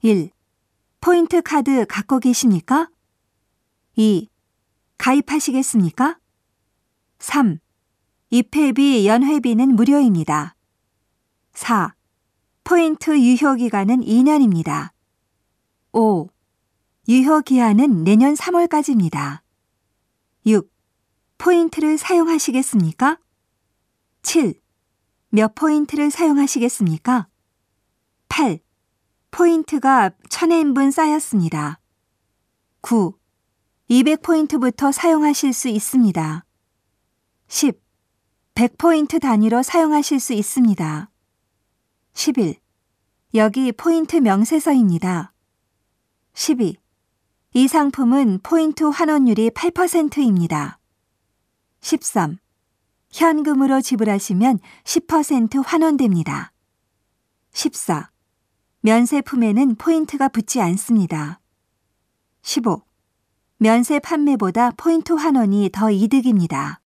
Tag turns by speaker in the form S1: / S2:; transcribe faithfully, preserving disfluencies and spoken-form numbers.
S1: 일. 포인트 카드 갖고 계십니까? 이. 가입하시겠습니까? 삼. 입회비, 연회비는 무료입니다. 사. 포인트 유효기간은 이 년입니다. 오. 유효기한은 내년 삼월까지입니다. 육. 포인트를 사용하시겠습니까? 칠. 몇 포인트를 사용하시겠습니까? 팔. 포인트가 천 엔분 쌓였습니다. 구. 이백 포인트부터 사용하실 수 있습니다. 십. 백 포인트 단위로 사용하실 수 있습니다. 십일. 여기 포인트 명세서입니다. 십이. 이 상품은 포인트 환원율이 팔 퍼센트입니다. 십삼. 현금으로 지불하시면 십 퍼센트 환원됩니다. 십사. 면세품에는 포인트가 붙지 않습니다. 십오. 면세 판매보다 포인트 환원이 더 이득입니다.